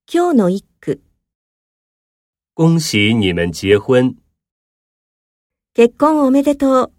今日の一句。 恭喜你们结婚。 結婚おめでとう。